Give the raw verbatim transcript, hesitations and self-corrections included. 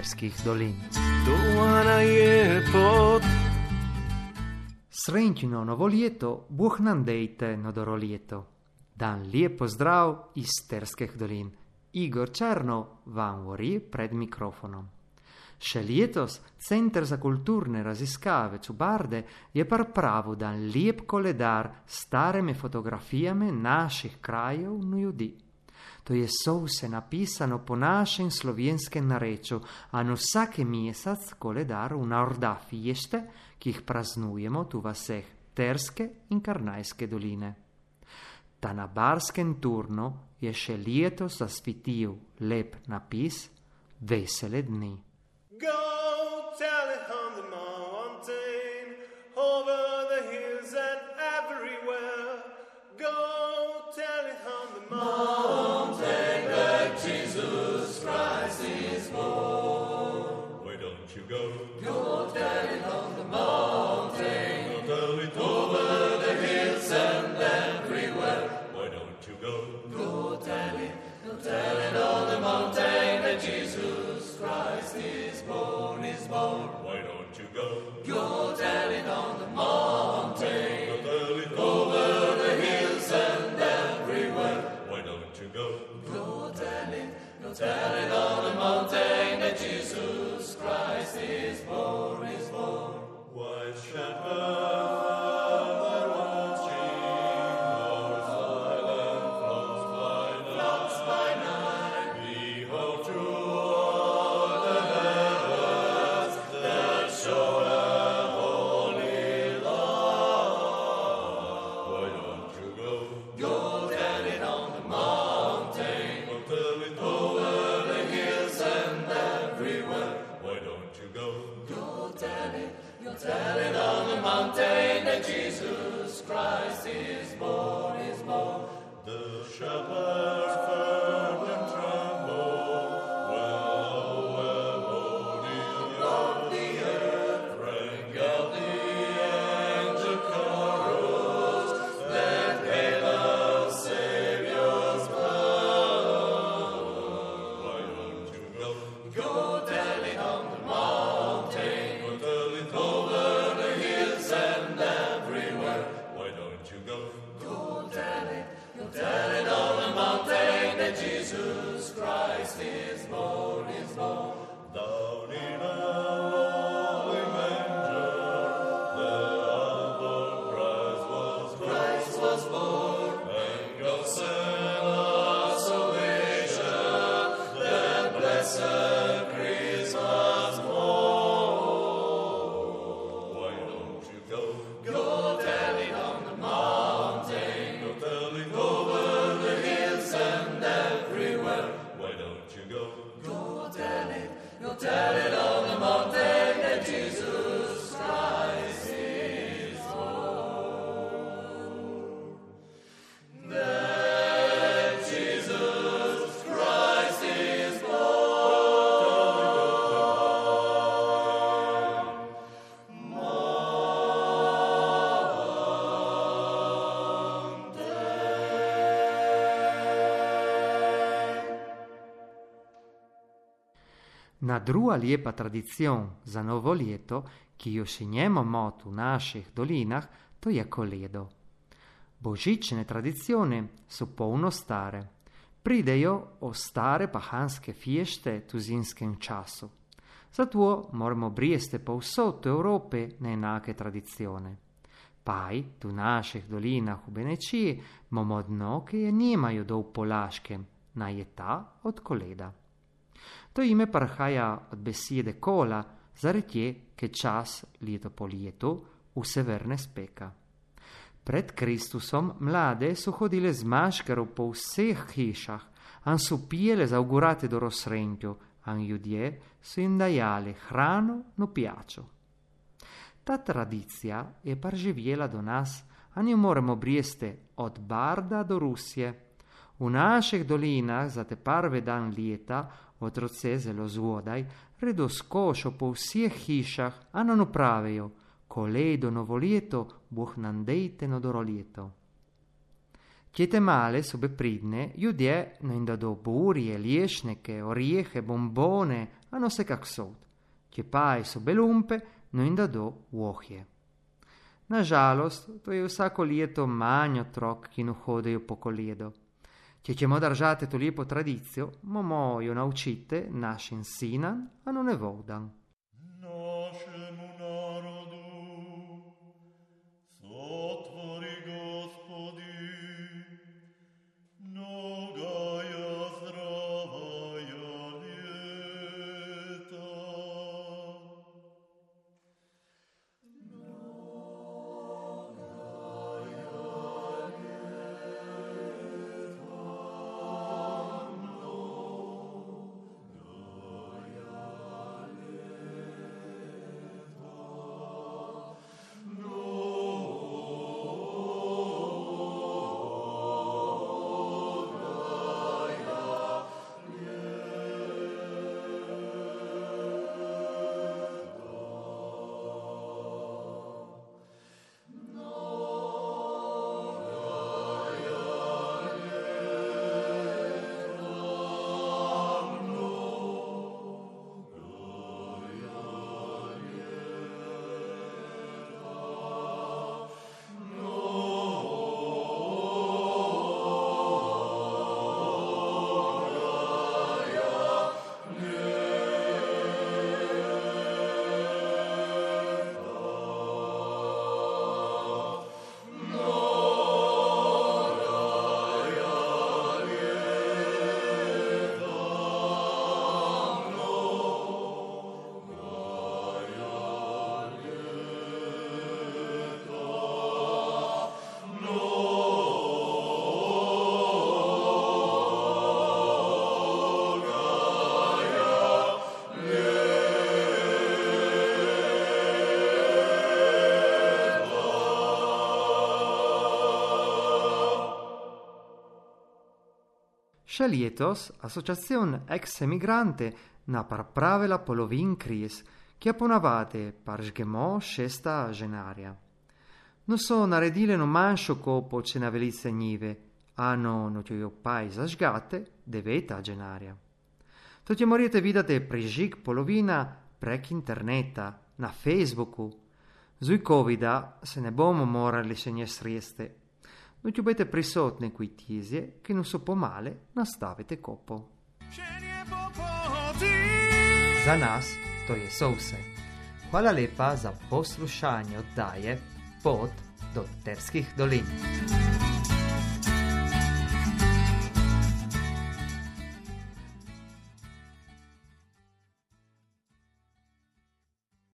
Terskih dolin. Doana je pot. Srećno novo ljeto, Bog nam dejte nodoro ljeto. Dan lijep pozdrav iz Terskih dolin. Igor Černo vam govori pred mikrofonom. Še letos Center za kulturne raziskave Čubarde je pripravil dan lijep koledar s starimi fotografijami naših krajev in ljudi. To je vse napisano po našem slovenskem narečju, a na vsake mesec koledar vnorda fište, ki jih praznujemo tu v vseh Terske in Karnajske doline. Ta na Barskem turnu je še letos zasvitil lep napis Vesele dni. Go tell it on the mountain, over the hills and everywhere. Go tell it on the mountain that Jesus Christ is born. Why don't you go? Go tell it on the mountain. Go tell it over the hills and everywhere. Why don't you go? Go tell it, go tell it on the mountain that Jesus Christ is born, is born. Why don't you go? Go tell it on the mountain. Go tell it over the hills and everywhere. Why don't you go? Go tell it, go tell it on the mountain that Jesus Christ is born, is born. White shepherd. Tell it on the mountain that Jesus Christ is born, is born. The shepherds heard and trembled, well, well, holy of the earth, rang out the angel chorus, that hail the Savior's birth. Why don't you go? Go tell it on the mountain. Go tell it over the hills and everywhere. Why don't you go? Go tell it, go tell it on the mountain that Jesus Christ is born, is born. Down in a lowly manger, there our Christ was born. Christ was born, and God sent us salvation, that blessed Christmas morn. Why don't you go? Go tell it on the mountain. Go tell it over the hills and everywhere. Why don't you go? Go tell it, go tell it on the mountain that Jesus Christ is born. That Jesus Christ is born. Na druga lijepa tradicion za novo ljeto, ki jo še njemo v naših dolinah, to je koledo. Božične tradicione so polno stare. Pridejo o stare pahanske fješte tu zimskem času. Zato moramo brijeste povsod u Evropi na enake tradicione. Paj, tu naših dolinah v Benečiji, imamo dno, ki je nimajo do v Polaškem, na je ta od koleda. To ime prihaja od besede kola, zaradi je čas leto po letu vse vrne speka. Pred Kristusom mlade so hodile z maškarov po vseh hišah, an so pijele za augurate do rosrempju, an ljudje so jim dajali hrano no pijačo. Ta tradicija je preživjela do nas, a ne moremo brijeste od Barda do Rusije. V naših dolinah za te prve dan leta otroce zelo zgodaj redo skošo po vseh hišah, a nam pravijo, koledo novo leto, Bog nam dejte nodoro leto. Chiete male sobe pridne, judje no inda do burie, liešneke, oriehe, bombone, a no se kak sod. Če paj sobe lumpe, no inda do uohje. Nažalost, to je vsako ljeto manj otrok, ki no hodejo po koledo. Če ćemo držati to lijepo tradicijo, momo jo naučite našim sinan, a no ne vodan. Našemu narodu sotvori Gospodin, mnogaja zdravaja ljeta. Še letos Asociacion Ex Emigrante na pripravila polovin kriz, ki je ponavadi paržgemo šesta ženarja. No so naredile no manjšo kopo, če na velice njive, a no no jo paj zažgate deveta ženarja. To ti morate videti prižig polovina prek interneta, na Facebooku. Zuj covida se ne bomo morali še nje sreste. No ti budete prisotni qui tizje, che non so pomale nastavite kopo. Za nas to je vse. Hvala lepa za poslušanje oddaje Pot do Terskih dolin.